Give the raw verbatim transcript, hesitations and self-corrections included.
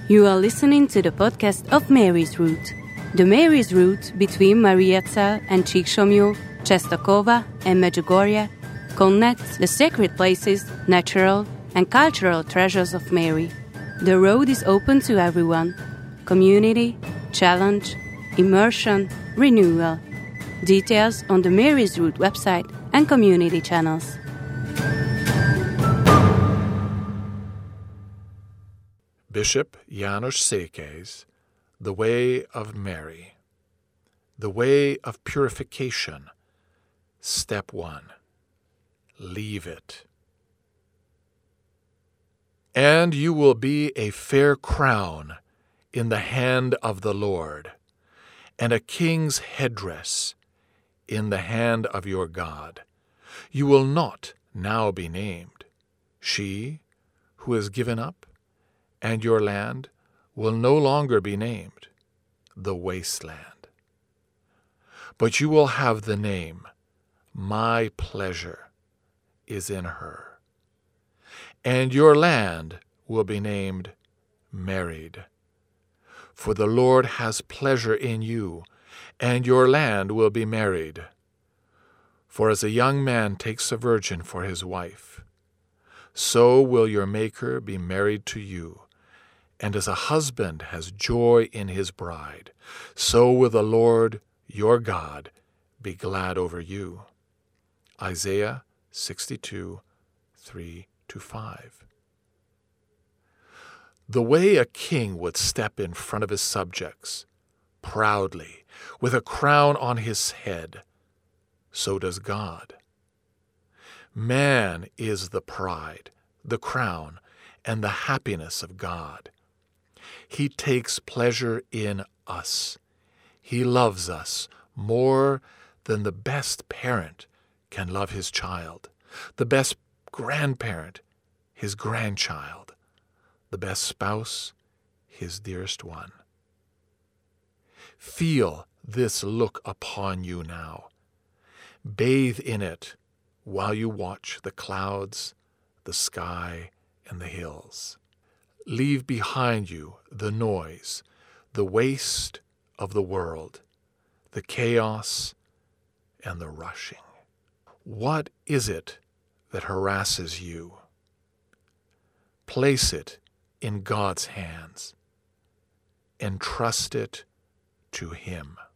You are listening to the podcast of Mary's Route. The Mary's Route between Mariazell and Csíksomlyó, Czestochowa and Medjugorje connects the sacred places, natural and cultural treasures of Mary. The road is open to everyone. Community, challenge, immersion, renewal. Details on the Mary's Route website and community channels. Bishop János Székely's The Way of Mary. The Way of Purification. Step one. Leave it. And you will be a fair crown in the hand of the Lord, and a king's headdress in the hand of your God. You will not now be named, she who is given up, and your land will no longer be named, the wasteland. But you will have the name, my pleasure is in her. And your land will be named married. For the Lord has pleasure in you, and your land will be married. For as a young man takes a virgin for his wife, so will your Maker be married to you. And as a husband has joy in his bride, so will the Lord your God be glad over you. Isaiah sixty-two, three to five. The way a king would step in front of his subjects, proudly, with a crown on his head, so does God. Man is the pride, the crown, and the happiness of God. He takes pleasure in us. He loves us more than the best parent can love his child, the best grandparent, his grandchild, the best spouse, his dearest one. Feel this look upon you now. Bathe in it while you watch the clouds, the sky, and the hills. Leave behind you the noise, the waste of the world, the chaos and the rushing. What is it that harasses you? Place it in God's hands. Entrust it to Him.